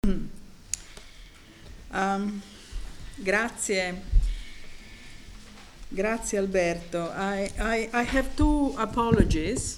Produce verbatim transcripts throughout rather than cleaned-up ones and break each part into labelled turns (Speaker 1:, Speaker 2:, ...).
Speaker 1: Um, grazie, grazie Alberto. I, I, I have two apologies.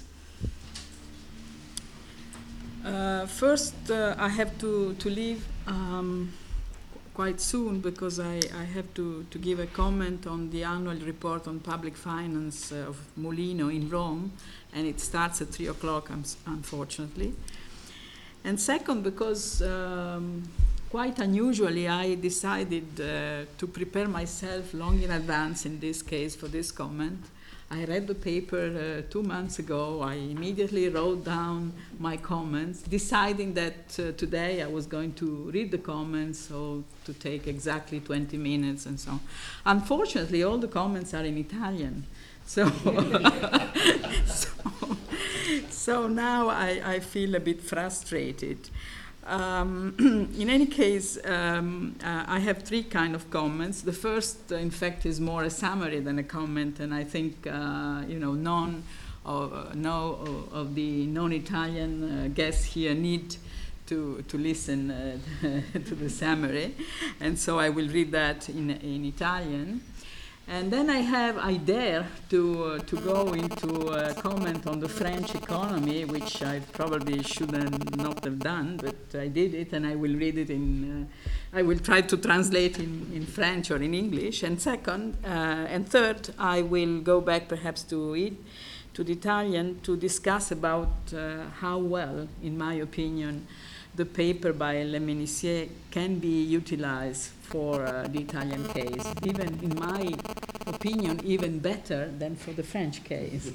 Speaker 1: Uh, first, uh, I have to, to leave um, quite soon because I, I have to, to give a comment on the annual report on public finance uh, of Molino in Rome, and it starts at three o'clock, unfortunately. And second, because um, quite unusually, I decided uh, to prepare myself long in advance in this case for this comment. I read the paper uh, two months ago. I immediately wrote down my comments, deciding that uh, today I was going to read the comments, so to take exactly twenty minutes and so on. Unfortunately, all the comments are in Italian. So, so, so now I, I feel a bit frustrated. Um, in any case, um, uh, I have three kind of comments. The first, uh, in fact, is more a summary than a comment, and I think uh, you know none of, uh, no of the non-Italian uh, guests here need to to listen uh, to the summary, and so I will read that in in Italian. And then I have, I dare to uh, to go into a comment on the French economy, which I probably shouldn't not have done, but I did it, and I will read it in, uh, I will try to translate in, in French or in English. And second, uh, and third, I will go back perhaps to it, to the Italian, to discuss about uh, how well, in my opinion, the paper by Le Menissier can be utilized for uh, the Italian case, even in my opinion, even better than for the French case.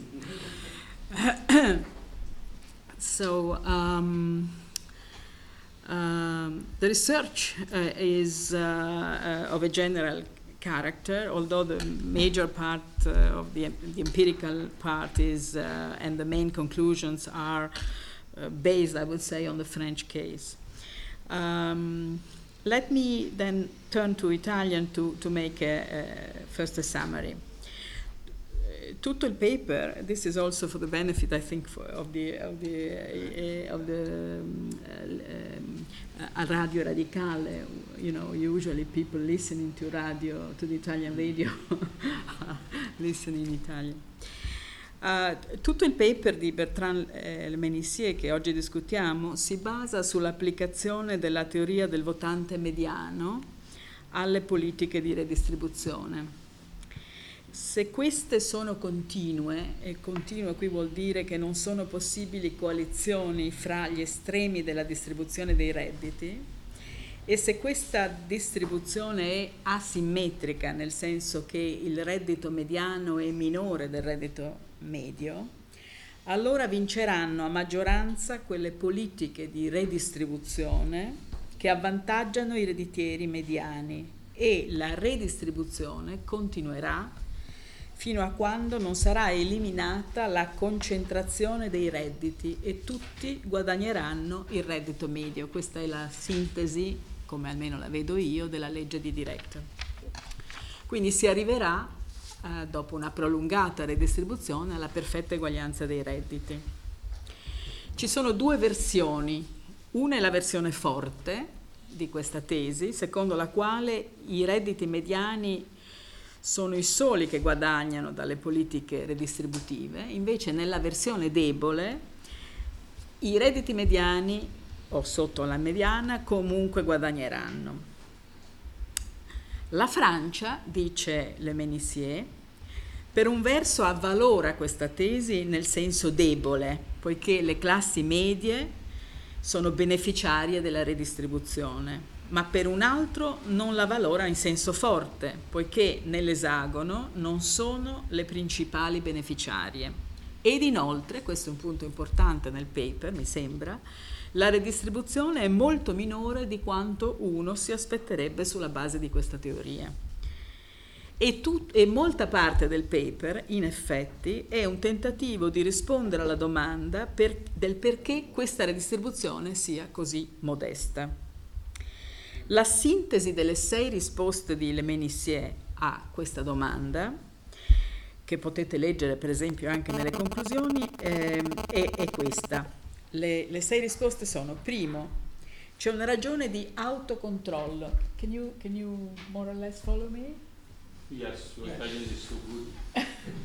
Speaker 1: So um, um, the research uh, is uh, uh, of a general character, although the major part uh, of the, the empirical part is, uh, and the main conclusions are Uh, based, I would say, on the French case. Um, let me then turn to Italian to, to make a, a, first a summary. Uh, tutto il paper, this is also for the benefit, I think, for, of the, of the, uh, of the um, uh, um, Radio Radicale. You know, usually people listening to radio, to the Italian radio, listen in Italian. Uh, tutto il paper di Bertrand eh, Le Menissier che oggi discutiamo si basa sull'applicazione della teoria del votante mediano alle politiche di redistribuzione. Se queste sono continue, e continue qui vuol dire che non sono possibili coalizioni fra gli estremi della distribuzione dei redditi, e se questa distribuzione è asimmetrica, nel senso che il reddito mediano è minore del reddito medio, allora vinceranno a maggioranza quelle politiche di redistribuzione che avvantaggiano i redditieri mediani, e la redistribuzione continuerà fino a quando non sarà eliminata la concentrazione dei redditi e tutti guadagneranno il reddito medio. Questa è la sintesi, come almeno la vedo io, della legge di Director. Quindi si arriverà Uh, dopo una prolungata redistribuzione alla perfetta eguaglianza dei redditi. Ci sono due versioni. Una è la versione forte di questa tesi, secondo la quale i redditi mediani sono i soli che guadagnano dalle politiche redistributive. Invece nella versione debole i redditi mediani o sotto la mediana comunque guadagneranno. La Francia, dice Le Menissier, per un verso avvalora questa tesi nel senso debole, poiché le classi medie sono beneficiarie della redistribuzione, ma per un altro non la valora in senso forte, poiché nell'esagono non sono le principali beneficiarie. Ed inoltre, questo è un punto importante nel paper, mi sembra, la redistribuzione è molto minore di quanto uno si aspetterebbe sulla base di questa teoria. E, tut- e molta parte del paper, in effetti, è un tentativo di rispondere alla domanda per- del perché questa redistribuzione sia così modesta. La sintesi delle sei risposte di Le Menissier a questa domanda, che potete leggere per esempio anche nelle conclusioni, eh, è, è questa. Le, le sei risposte sono: primo, C'è una ragione di autocontrollo. Can you, can you more or less follow me?
Speaker 2: Yes, your Italian is so good.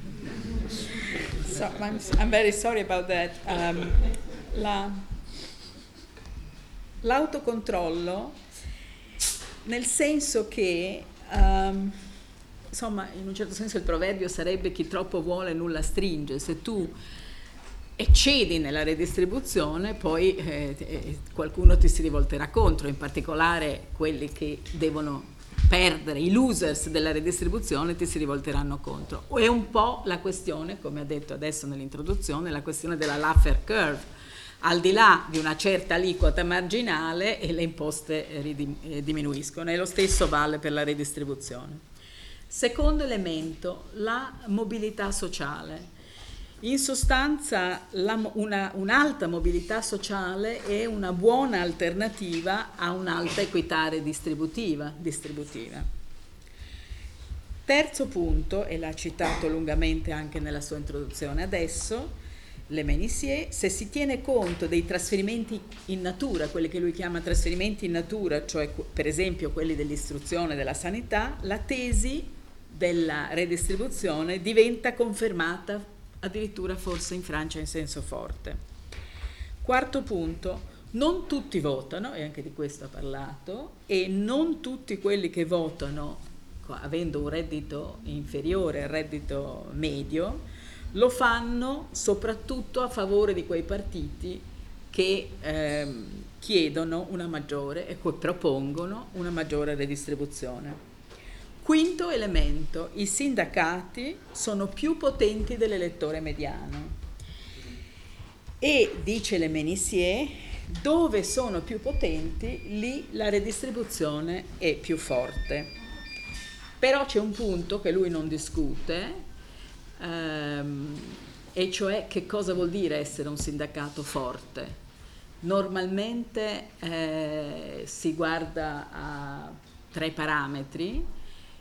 Speaker 1: So, I'm, I'm very sorry about that. Um, la, l'autocontrollo, nel senso che, um, insomma, in un certo senso il proverbio sarebbe chi troppo vuole nulla stringe. Se tu eccedi nella redistribuzione, poi eh, eh, qualcuno ti si rivolterà contro, in particolare quelli che devono perdere, i losers della redistribuzione ti si rivolteranno contro. È un po' la questione, come ha detto adesso nell'introduzione, la questione della Laffer curve. Al di là di una certa aliquota marginale e le imposte ridim- eh, diminuiscono, e lo stesso vale per la redistribuzione. Secondo elemento, la mobilità sociale. In sostanza la, una, un'alta mobilità sociale è una buona alternativa a un'alta equità redistributiva. distributiva. Terzo punto, e l'ha citato lungamente anche nella sua introduzione adesso, Le Menissier, se si tiene conto dei trasferimenti in natura, quelli che lui chiama trasferimenti in natura, cioè per esempio quelli dell'istruzione e della sanità, la tesi della redistribuzione diventa confermata addirittura forse in Francia in senso forte. Quarto punto, non tutti votano, e anche di questo ha parlato, e non tutti quelli che votano, avendo un reddito inferiore al reddito medio, lo fanno soprattutto a favore di quei partiti che ehm, chiedono una maggiore e che propongono una maggiore redistribuzione. Quinto elemento, i sindacati sono più potenti dell'elettore mediano e, dice Le Menissier, dove sono più potenti, lì la redistribuzione è più forte. Però c'è un punto che lui non discute, ehm, e cioè che cosa vuol dire essere un sindacato forte. Normalmente eh, si guarda a tre parametri: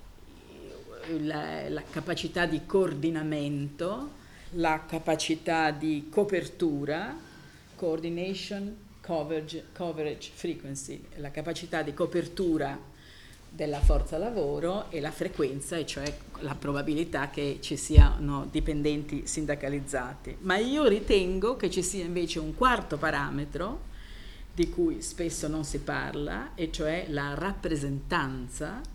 Speaker 1: La, la capacità di coordinamento, la capacità di copertura, coordination, coverage, coverage, frequency, la capacità di copertura della forza lavoro e la frequenza, e cioè la probabilità che ci siano dipendenti sindacalizzati. Ma io ritengo che ci sia invece un quarto parametro di cui spesso non si parla, e cioè la rappresentanza,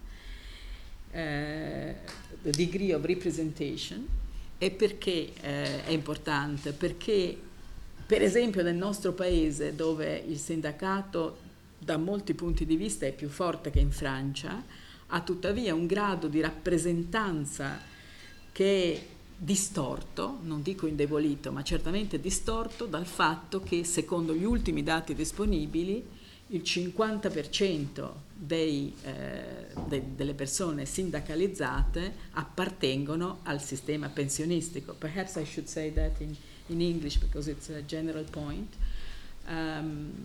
Speaker 1: Uh, the degree of representation. E perché uh, è importante? Perché per esempio nel nostro paese, dove il sindacato da molti punti di vista è più forte che in Francia, ha tuttavia un grado di rappresentanza che è distorto, non dico indebolito, ma certamente distorto dal fatto che, secondo gli ultimi dati disponibili, il cinquanta per cento dei, eh, de, delle persone sindacalizzate appartengono al sistema pensionistico. Perhaps I should say that in, in English because it's a general point. Um,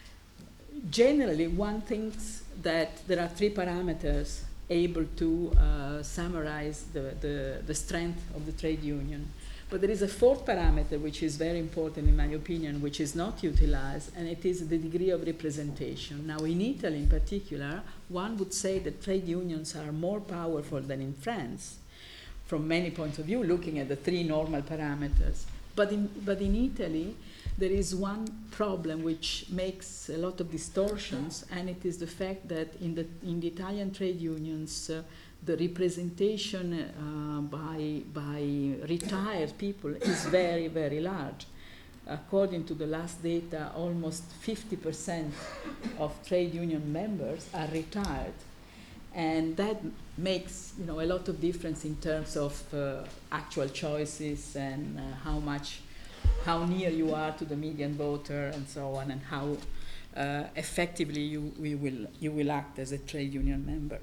Speaker 1: generally, one thinks that there are three parameters able to uh, summarize the, the, the strength of the trade union. But there is a fourth parameter which is very important in my opinion, which is not utilized, and it is the degree of representation. Now in Italy in particular, one would say that trade unions are more powerful than in France from many points of view, looking at the three normal parameters. But in, but in Italy, there is one problem which makes a lot of distortions, and it is the fact that in the, in the Italian trade unions, uh, the representation uh, by, by retired people is very, very large. According to the last data, almost fifty percent of trade union members are retired. And that makes, you know, a lot of difference in terms of uh, actual choices and uh, how much, how near you are to the median voter and so on, and how uh, effectively you, you, will, you will act as a trade union member.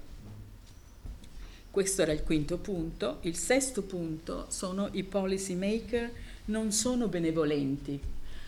Speaker 1: Questo era il quinto punto. Il sesto punto sono i policy maker non sono benevolenti,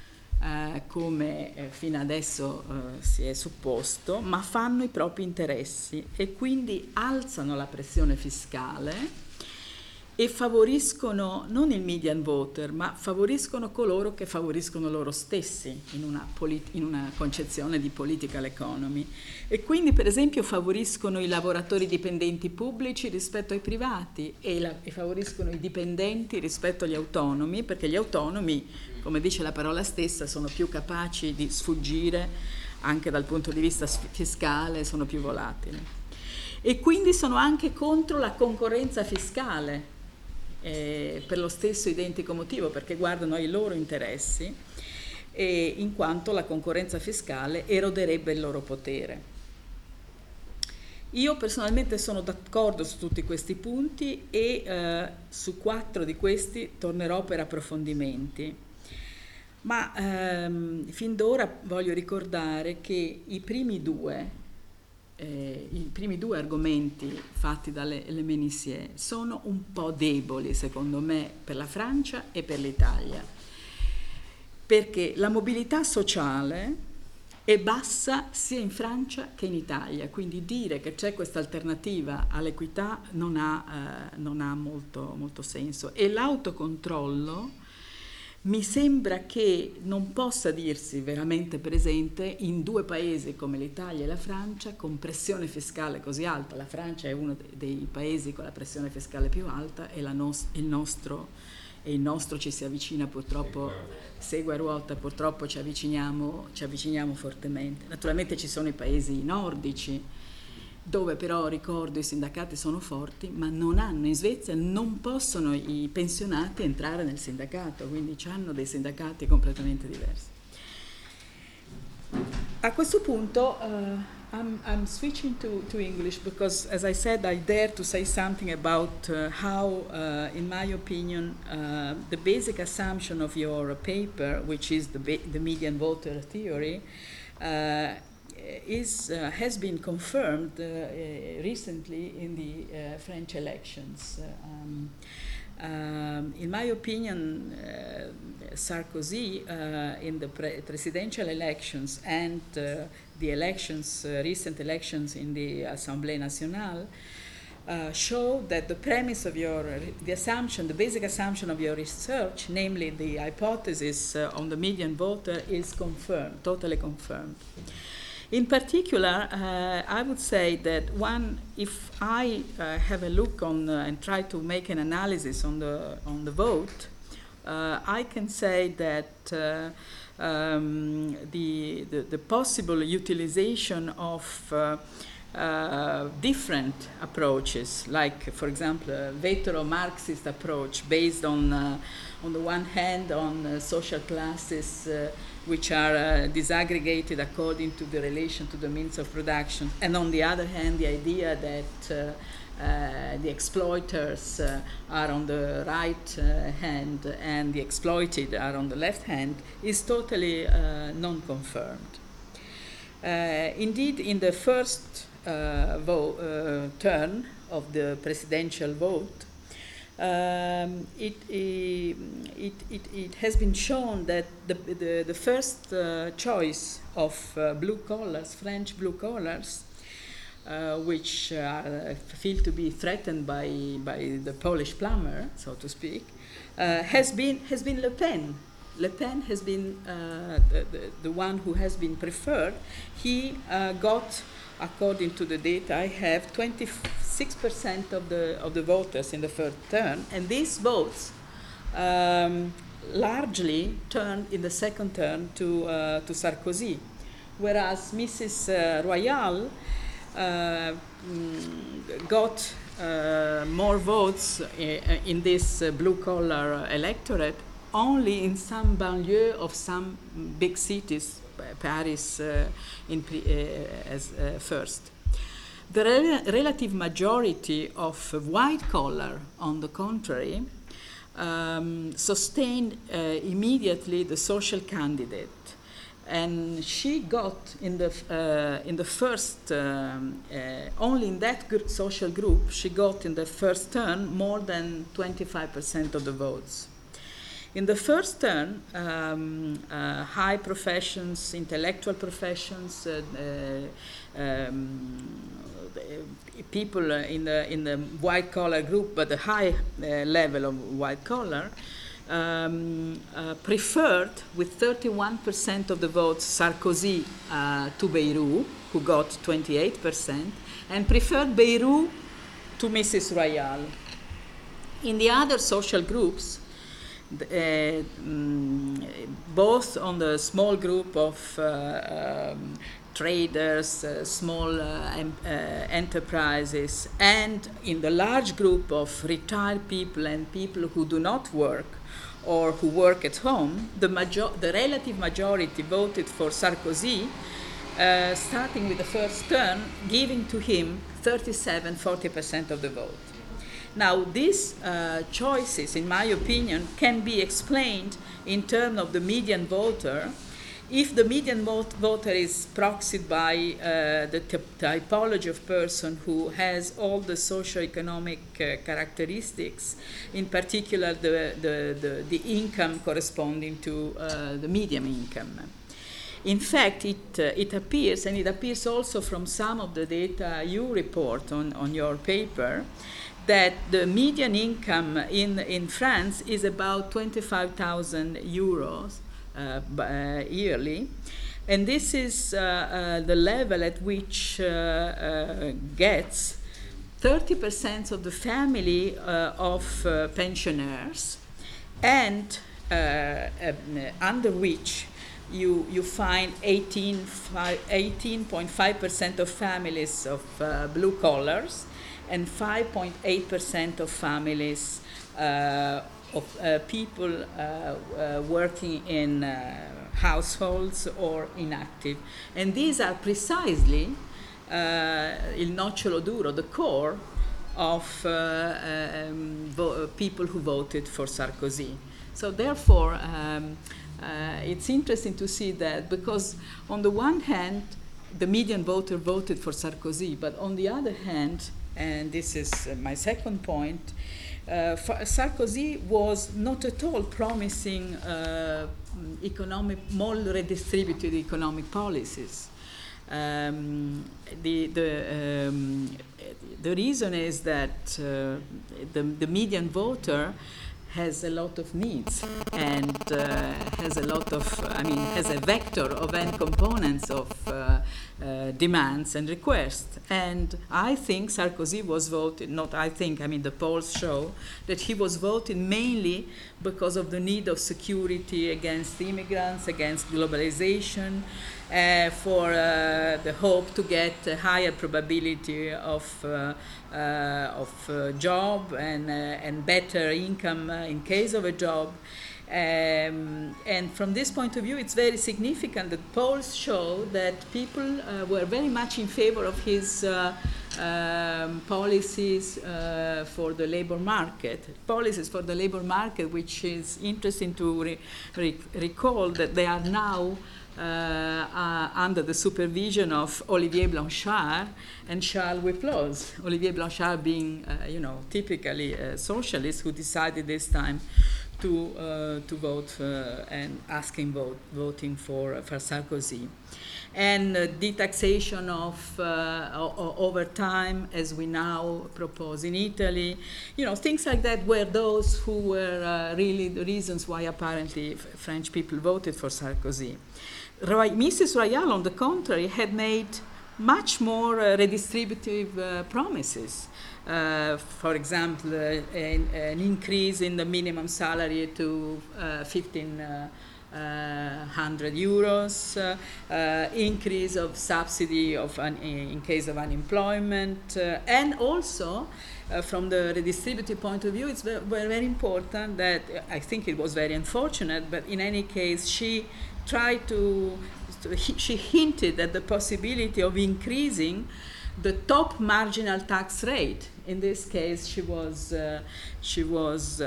Speaker 1: eh, come eh, fino adesso eh, si è supposto, ma fanno i propri interessi e quindi alzano la pressione fiscale e favoriscono non il median voter, ma favoriscono coloro che favoriscono loro stessi in una, polit- in una concezione di political economy. E quindi, per esempio, favoriscono i lavoratori dipendenti pubblici rispetto ai privati e, la- e favoriscono i dipendenti rispetto agli autonomi, perché gli autonomi, come dice la parola stessa, sono più capaci di sfuggire anche dal punto di vista fiscale, sono più volatili. E quindi sono anche contro la concorrenza fiscale, eh, per lo stesso identico motivo, perché guardano ai loro interessi, e in quanto la concorrenza fiscale eroderebbe il loro potere. Io personalmente sono d'accordo su tutti questi punti e eh, su quattro di questi tornerò per approfondimenti. Ma ehm, fin d'ora voglio ricordare che i primi due Eh, i primi due argomenti fatti dalle Le Menissier sono un po' deboli, secondo me, per la Francia e per l'Italia, perché la mobilità sociale è bassa sia in Francia che in Italia, quindi dire che c'è questa alternativa all'equità non ha, eh, non ha molto, molto senso. E l'autocontrollo mi sembra che non possa dirsi veramente presente in due paesi come l'Italia e la Francia con pressione fiscale così alta. La Francia è uno dei paesi con la pressione fiscale più alta e la nos- il, nostro, e il nostro ci si avvicina purtroppo, segue a ruota, purtroppo ci avviciniamo, ci avviciniamo fortemente. Naturalmente ci sono i paesi nordici, dove però, ricordo, i sindacati sono forti, ma non hanno, in Svezia non possono i pensionati entrare nel sindacato, quindi hanno dei sindacati completamente diversi. A questo punto uh, I'm, I'm switching to, to English because, as I said, I dare to say something about uh, how, uh, in my opinion, uh, the basic assumption of your paper, which is the, ba- the median voter theory, uh, is uh, has been confirmed uh, uh, recently in the uh, French elections. Um, um, in my opinion, uh, Sarkozy uh, in the pre- presidential elections and uh, the elections, uh, recent elections in the Assemblée Nationale, uh, show that the premise of your, the assumption, the basic assumption of your research, namely the hypothesis uh, on the median voter, is confirmed, totally confirmed. In particular, uh, I would say that one, if I uh, have a look on uh, and try to make an analysis on the on the vote, uh, I can say that uh, um, the, the the possible utilization of uh, uh, different approaches, like, for example, a vetero-Marxist approach based on, uh, on the one hand, on uh, social classes uh, which are uh, disaggregated according to the relation to the means of production, and on the other hand, the idea that uh, uh, the exploiters uh, are on the right uh, hand and the exploited are on the left hand, is totally uh, non-confirmed. Uh, indeed, in the first uh, vo- uh, turn of the presidential vote, Um, it, it, it, it has been shown that the, the, the first uh, choice of uh, blue collars, French blue collars, uh, which uh, feel to be threatened by, by the Polish plumber, so to speak, uh, has been, has been Le Pen. Le Pen has been uh, the, the, the one who has been preferred. He uh, got, according to the data I have, twenty-six percent of the of the voters in the first turn, and these votes um, largely turned in the second turn to uh, to Sarkozy, whereas Missus Uh, Royale uh, mm, got uh, more votes uh, in this uh, blue-collar electorate only in some banlieue of some big cities, Paris uh, in pre, uh, as uh, first. The rel- relative majority of white collar, on the contrary, um, sustained uh, immediately the social candidate, and she got in the uh, in the first um, uh, only in that gr- social group she got in the first turn more than twenty-five percent of the votes. In the first turn, um, uh, high professions, intellectual professions, uh, uh, um, people in the in the white collar group, but the high uh, level of white collar, um, uh, preferred with thirty-one percent of the votes Sarkozy uh, to Bayrou, who got twenty-eight percent, and preferred Bayrou to Missus Royal. In the other social groups, uh, mm, both on the small group of uh, um, traders, uh, small uh, em uh, enterprises, and in the large group of retired people and people who do not work or who work at home, the, major the relative majority voted for Sarkozy, uh, starting with the first turn, giving to him thirty-seven, forty percent of the vote. Now, these uh, choices, in my opinion, can be explained in terms of the median voter. If the median vote voter is proxied by uh, the typology of person who has all the socioeconomic uh, characteristics, in particular the, the, the, the income corresponding to uh, the median income. In fact, it, uh, it appears, and it appears also from some of the data you report on, on your paper, that the median income in, in France is about twenty-five thousand euros Uh, uh, yearly, and this is uh, uh, the level at which uh, uh, gets thirty percent of the family uh, of uh, pensioners, and uh, uh, under which you you find eighteen point five percent of families of uh, blue collars and five point eight percent of families uh, of uh, people uh, uh, working in uh, households or inactive. And these are precisely uh, il nocciolo duro, the core of uh, um, people who voted for Sarkozy. So therefore, um, uh, it's interesting to see that, because on the one hand, the median voter voted for Sarkozy, but on the other hand, and this is uh, my second point, Uh, Sarkozy was not at all promising uh, economic, more redistributed economic policies. Um, the, the, um, the reason is that uh, the, the median voter has a lot of needs and uh, has a lot of, I mean, has a vector of n components of uh, uh, demands and requests. And I think Sarkozy was voted, not I think, I mean the polls show that he was voted mainly because of the need of security against immigrants, against globalization, uh, for uh, the hope to get a higher probability of uh, Uh, of uh, job and, uh, and better income uh, in case of a job. Um, and from this point of view, it's very significant that polls show that people uh, were very much in favor of his uh, um, policies uh, for the labor market. Policies for the labor market, which is interesting to re re recall that they are now Uh, uh, under the supervision of Olivier Blanchard and Charles Wyplosz. Olivier Blanchard being, uh, you know, typically a socialist who decided this time to uh, to vote uh, and asking vote voting for uh, for Sarkozy. And uh, detaxation of uh, over time, as we now propose in Italy, you know, things like that were those who were uh, really the reasons why apparently French people voted for Sarkozy. Roy, Missus Royal, on the contrary, had made much more uh, redistributive uh, promises. Uh, for example, uh, an, an increase in the minimum salary to uh, fifteen hundred euros, uh, uh, increase of subsidy of un in case of unemployment, uh, and also uh, from the redistributive point of view, it's very, very important that uh, I think it was very unfortunate, but in any case, she tried to, to she hinted at the possibility of increasing the top marginal tax rate. In this case, she was uh, she was uh,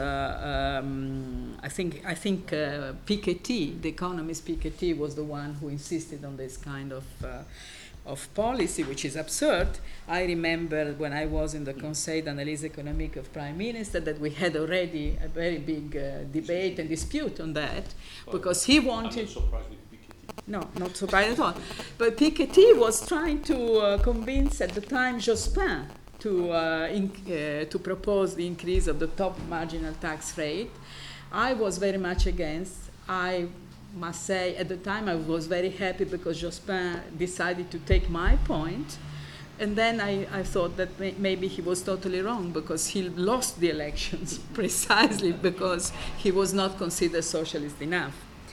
Speaker 1: um, I think I think uh, Piketty, the economist Piketty, was the one who insisted on this kind of uh, of policy, which is absurd. I remember when I was in the Conseil d'analyse économique of Prime Minister that we had already a very big uh, debate and dispute on that,
Speaker 2: well,
Speaker 1: because he wanted.
Speaker 2: I'm not surprised with Piketty.
Speaker 1: No, not surprised at all. But Piketty was trying to uh, convince at the time Jospin to, uh, in, uh, to propose the increase of the top marginal tax rate. I was very much against. I must say at the time I was very happy because Jospin decided to take my point. And then I, I thought that may, maybe he was totally wrong because he lost the elections precisely because he was not considered socialist enough.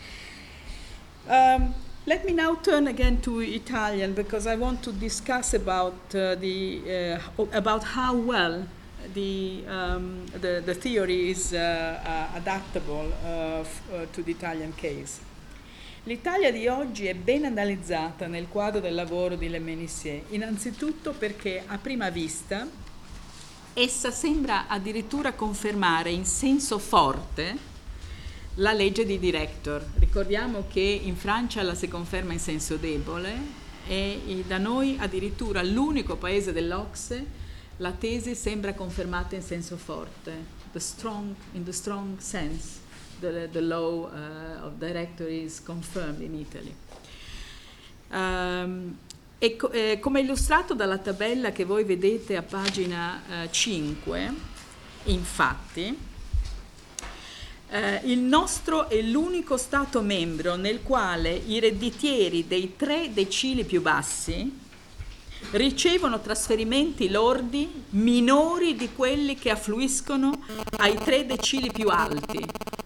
Speaker 1: Um, let me now turn again to Italian because I want to discuss about uh, the uh, about how well the um, the, the theory is uh, uh, adaptable uh, f- uh, to the Italian case. L'Italia di oggi è ben analizzata nel quadro del lavoro di Le Ménissier, innanzitutto perché a prima vista essa sembra addirittura confermare in senso forte la legge di Director. Ricordiamo che in Francia la si conferma in senso debole e da noi addirittura l'unico paese dell'O C S E la tesi sembra confermata in senso forte, the strong, in the strong sense. The, the law uh, of Director is confirmed in Italy. Um, e co- eh, come illustrato dalla tabella che voi vedete a pagina uh, cinque, infatti, uh, il nostro è l'unico Stato membro nel quale i redditieri dei tre decili più bassi ricevono trasferimenti lordi minori di quelli che affluiscono ai tre decili più alti.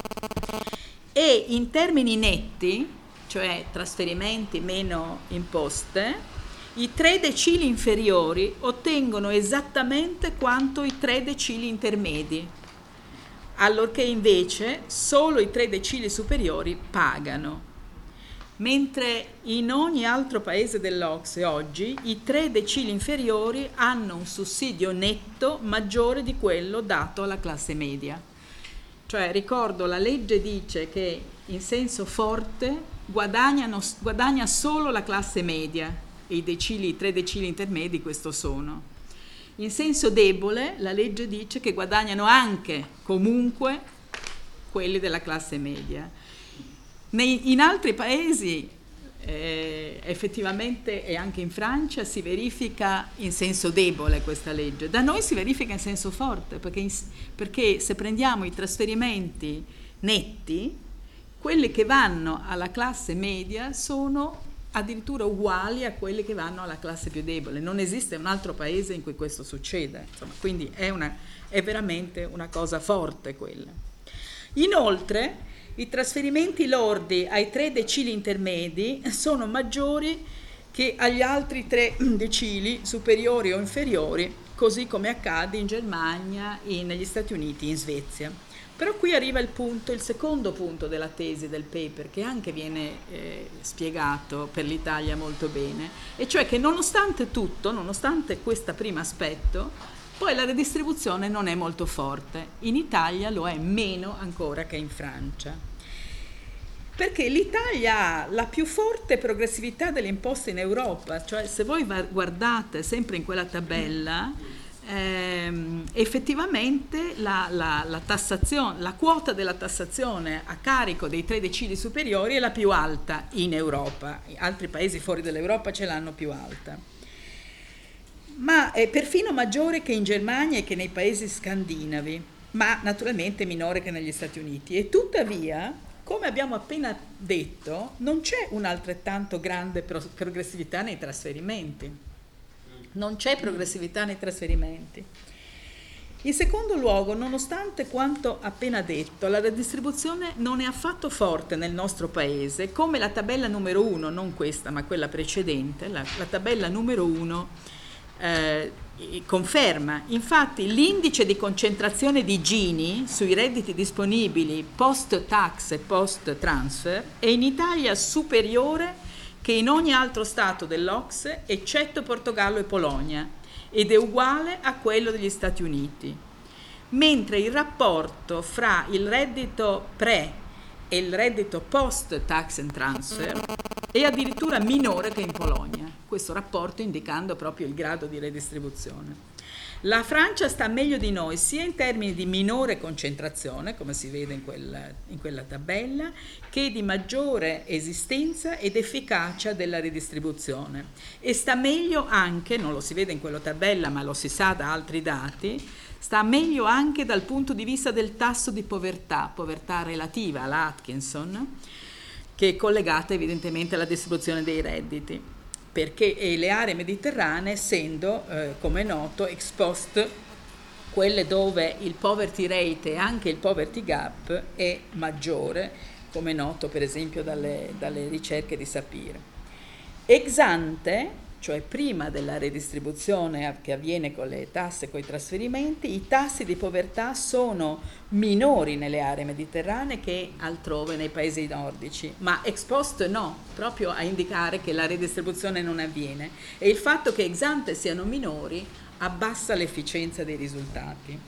Speaker 1: E in termini netti, cioè trasferimenti meno imposte, i tre decili inferiori ottengono esattamente quanto i tre decili intermedi, allorché invece solo i tre decili superiori pagano. Mentre in ogni altro paese dell'O C S E oggi i tre decili inferiori hanno un sussidio netto maggiore di quello dato alla classe media. Cioè, ricordo, la legge dice che in senso forte guadagnano, guadagna solo la classe media e i decili, i tre decili intermedi questo sono. In senso debole la legge dice che guadagnano anche, comunque, quelli della classe media. Nei, in altri paesi eh, effettivamente e anche in Francia si verifica in senso debole questa legge. Da noi si verifica in senso forte perché, in, perché se prendiamo i trasferimenti netti, quelli che vanno alla classe media sono addirittura uguali a quelli che vanno alla classe più debole. Non esiste un altro paese in cui questo succede. Insomma, quindi è, una, è veramente una cosa forte quella. Inoltre i trasferimenti lordi ai tre decili intermedi sono maggiori che agli altri tre decili superiori o inferiori, così come accade in Germania, in, negli Stati Uniti, in Svezia. Però qui arriva il punto, il secondo punto della tesi del paper, che anche viene eh, spiegato per l'Italia molto bene, e cioè che nonostante tutto, nonostante questo primo aspetto, poi la redistribuzione non è molto forte. In Italia lo è meno ancora che in Francia. Perché l'Italia ha la più forte progressività delle imposte in Europa, cioè se voi guardate sempre in quella tabella, ehm, effettivamente la, la, la tassazione, la quota della tassazione a carico dei tre decili superiori è la più alta in Europa. Altri paesi fuori dall'Europa ce l'hanno più alta. Ma è perfino maggiore che in Germania e che nei paesi scandinavi, ma naturalmente minore che negli Stati Uniti. E tuttavia, come abbiamo appena detto, non c'è un'altrettanto grande progressività nei trasferimenti. Non c'è progressività nei trasferimenti. In secondo luogo, nonostante quanto appena detto, la redistribuzione non è affatto forte nel nostro paese, come la tabella numero uno, non questa ma quella precedente, la, la tabella numero uno, Eh, conferma. Infatti l'indice di concentrazione di Gini sui redditi disponibili post tax e post transfer è in Italia superiore che in ogni altro stato dell'O C S E eccetto Portogallo e Polonia ed è uguale a quello degli Stati Uniti, mentre il rapporto fra il reddito pre e il reddito post tax and transfer e addirittura minore che in Polonia, questo rapporto indicando proprio il grado di redistribuzione. La Francia sta meglio di noi sia in termini di minore concentrazione, come si vede in quella, in quella tabella, che di maggiore esistenza ed efficacia della redistribuzione. E sta meglio anche, non lo si vede in quella tabella ma lo si sa da altri dati, sta meglio anche dal punto di vista del tasso di povertà, povertà relativa, la Atkinson, che è collegata evidentemente alla distribuzione dei redditi, perché e le aree mediterranee essendo, eh, come è noto, ex post quelle dove il poverty rate e anche il poverty gap è maggiore, come è noto per esempio dalle, dalle ricerche di Sapir. Ex ante, cioè prima della redistribuzione che avviene con le tasse e con i trasferimenti, i tassi di povertà sono minori nelle aree mediterranee che altrove nei paesi nordici, ma ex post no, proprio a indicare che la redistribuzione non avviene, e il fatto che ex ante siano minori abbassa l'efficienza dei risultati.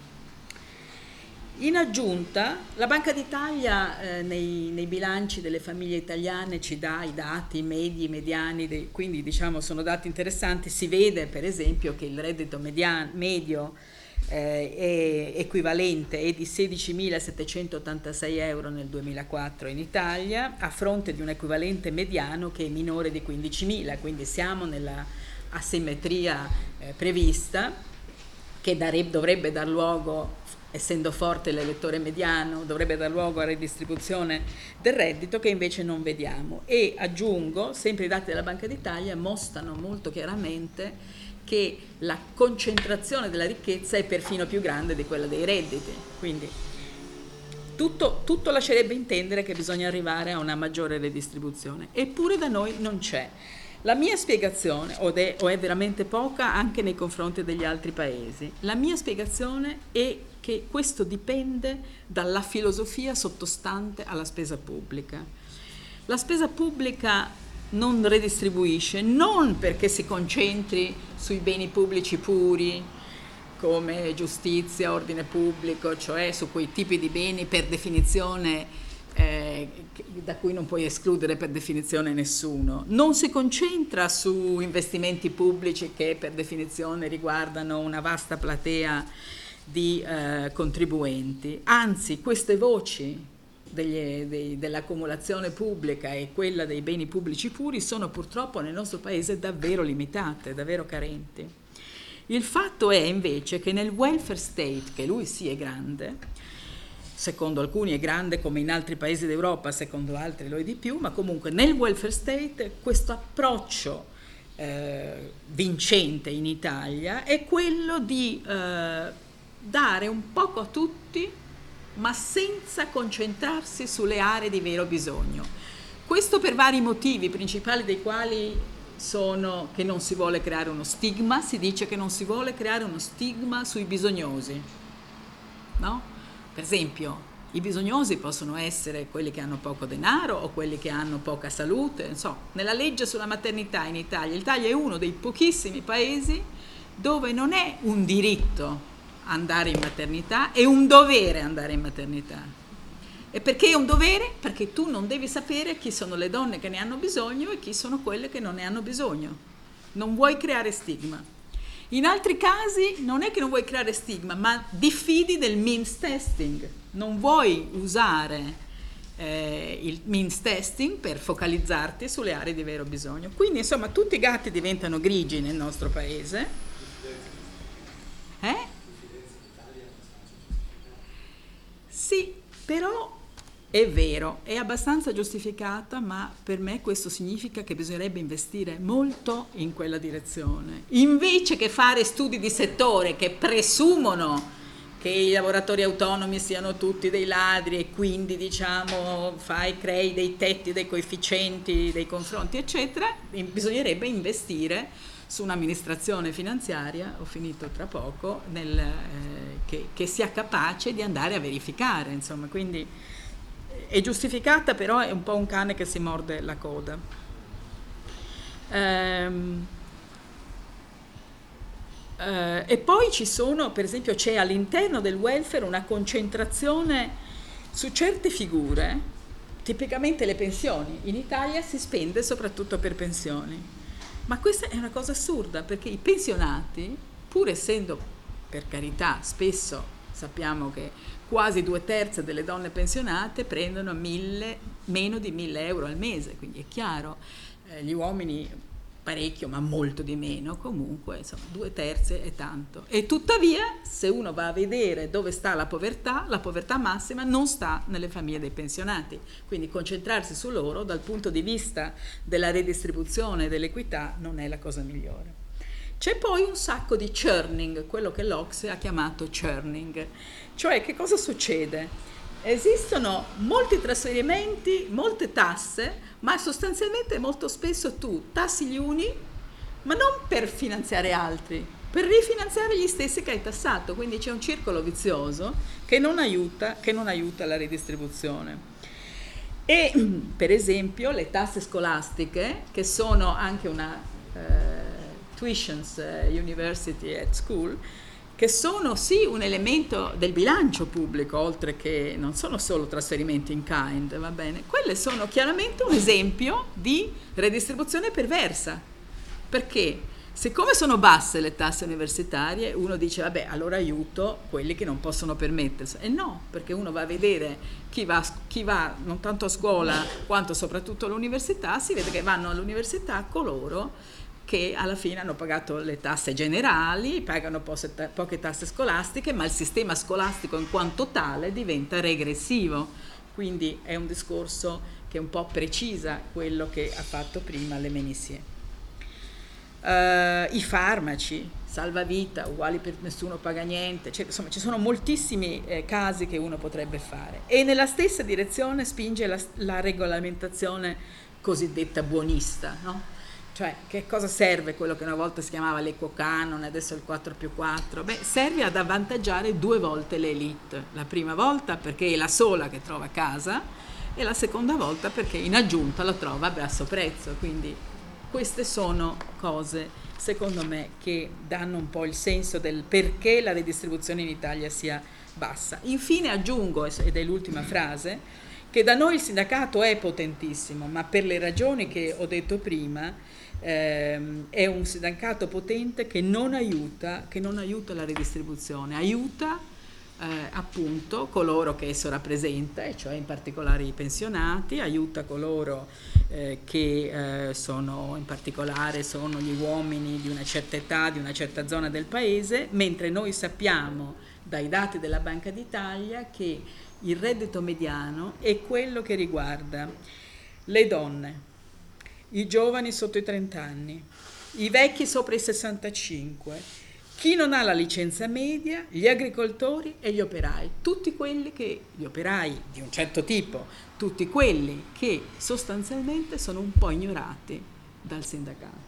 Speaker 1: In aggiunta, la Banca d'Italia eh, nei, nei bilanci delle famiglie italiane ci dà i dati medi, mediani, dei, quindi diciamo sono dati interessanti. Si vede per esempio che il reddito median, medio eh, è equivalente, è di sedicimilasettecentottantasei euro nel duemilaquattro in Italia, a fronte di un equivalente mediano che è minore di quindicimila, quindi siamo nella asimmetria eh, prevista, che darebbe, dovrebbe dar luogo, essendo forte l'elettore mediano, dovrebbe dar luogo a redistribuzione del reddito, che invece non vediamo. E aggiungo, sempre i dati della Banca d'Italia mostrano molto chiaramente che la concentrazione della ricchezza è perfino più grande di quella dei redditi, quindi tutto, tutto lascerebbe intendere che bisogna arrivare a una maggiore redistribuzione, eppure da noi non c'è. La mia spiegazione, o è, o è veramente poca anche nei confronti degli altri paesi, la mia spiegazione è che questo dipende dalla filosofia sottostante alla spesa pubblica. La spesa pubblica non redistribuisce, non perché si concentri sui beni pubblici puri, come giustizia, ordine pubblico, cioè su quei tipi di beni per definizione Eh, da cui non puoi escludere per definizione nessuno. Non si concentra su investimenti pubblici che per definizione riguardano una vasta platea di eh, contribuenti, anzi queste voci degli, dei, dell'accumulazione pubblica e quella dei beni pubblici puri sono purtroppo nel nostro paese davvero limitate, davvero carenti. Il fatto è invece che nel welfare state, che lui sì è grande, secondo alcuni è grande come in altri paesi d'Europa, secondo altri lo è di più, ma comunque nel welfare state questo approccio eh, vincente in Italia è quello di eh, dare un poco a tutti, ma senza concentrarsi sulle aree di vero bisogno. Questo per vari motivi, principali dei quali sono che non si vuole creare uno stigma, si dice che non si vuole creare uno stigma sui bisognosi, no? Per esempio, i bisognosi possono essere quelli che hanno poco denaro o quelli che hanno poca salute. Non so, nella legge sulla maternità in Italia, l'Italia è uno dei pochissimi paesi dove non è un diritto andare in maternità, è un dovere andare in maternità. E perché è un dovere? Perché tu non devi sapere chi sono le donne che ne hanno bisogno e chi sono quelle che non ne hanno bisogno. Non vuoi creare stigma. In altri casi non è che non vuoi creare stigma, ma diffidi del means testing, non vuoi usare eh, il means testing per focalizzarti sulle aree di vero bisogno. Quindi insomma tutti i gatti diventano grigi nel nostro paese. Eh? Sì, però è vero, è abbastanza giustificata, ma per me questo significa che bisognerebbe investire molto in quella direzione. Invece che fare studi di settore che presumono che i lavoratori autonomi siano tutti dei ladri e quindi diciamo fai, crei dei tetti, dei coefficienti, dei confronti eccetera, bisognerebbe investire su un'amministrazione finanziaria, ho finito tra poco, nel, eh, che, che sia capace di andare a verificare, insomma, quindi è giustificata, però è un po' un cane che si morde la coda. Ehm, eh, e poi ci sono, per esempio, c'è all'interno del welfare una concentrazione su certe figure tipicamente le pensioni. In Italia si spende soprattutto per pensioni, ma questa è una cosa assurda, perché i pensionati, pur essendo, per carità, spesso sappiamo che quasi due terzi delle donne pensionate prendono mille, meno di mille euro al mese, quindi è chiaro, eh, gli uomini parecchio, ma molto di meno, comunque, insomma, due terzi è tanto. E tuttavia, se uno va a vedere dove sta la povertà, la povertà massima non sta nelle famiglie dei pensionati, quindi concentrarsi su loro dal punto di vista della redistribuzione e dell'equità non è la cosa migliore. C'è poi un sacco di churning, quello che l'Ocse ha chiamato churning, cioè che cosa succede? Esistono molti trasferimenti, molte tasse, ma sostanzialmente molto spesso tu tassi gli uni, ma non per finanziare altri, per rifinanziare gli stessi che hai tassato, quindi c'è un circolo vizioso che non aiuta, che non aiuta la redistribuzione. E per esempio le tasse scolastiche, che sono anche una eh, tuitions uh, university at school, che sono sì un elemento del bilancio pubblico, oltre che non sono solo trasferimenti in kind, va bene? Quelle sono chiaramente un esempio di redistribuzione perversa, perché siccome sono basse le tasse universitarie, uno dice vabbè, allora aiuto quelli che non possono permettersi, e no, perché uno va a vedere chi va, chi va non tanto a scuola quanto soprattutto all'università, si vede che vanno all'università coloro che alla fine hanno pagato le tasse generali, pagano poche tasse scolastiche, ma il sistema scolastico in quanto tale diventa regressivo. Quindi è un discorso che un po' precisa quello che ha fatto prima Le Menissier. Uh, I farmaci, salvavita, uguali per nessuno paga niente, cioè, insomma ci sono moltissimi eh, casi che uno potrebbe fare. E nella stessa direzione spinge la, la regolamentazione cosiddetta buonista, no? Cioè, che cosa serve quello che una volta si chiamava l'equo canone, adesso il quattro più quattro? Beh, serve ad avvantaggiare due volte l'elite. La prima volta perché è la sola che trova casa e la seconda volta perché in aggiunta la trova a basso prezzo. Quindi queste sono cose, secondo me, che danno un po' il senso del perché la redistribuzione in Italia sia bassa. Infine aggiungo, ed è l'ultima frase, che da noi il sindacato è potentissimo, ma per le ragioni che ho detto prima, ehm, è un sindacato potente che non aiuta, che non aiuta la redistribuzione, aiuta eh, appunto coloro che esso rappresenta, e cioè in particolare i pensionati, aiuta coloro eh, che eh, sono in particolare sono gli uomini di una certa età, di una certa zona del paese, mentre noi sappiamo dai dati della Banca d'Italia che il reddito mediano è quello che riguarda le donne, i giovani sotto i trenta anni, i vecchi sopra i sessantacinque, chi non ha la licenza media, gli agricoltori e gli operai, tutti quelli che, gli operai di un certo tipo, tutti quelli che sostanzialmente sono un po' ignorati dal sindacato.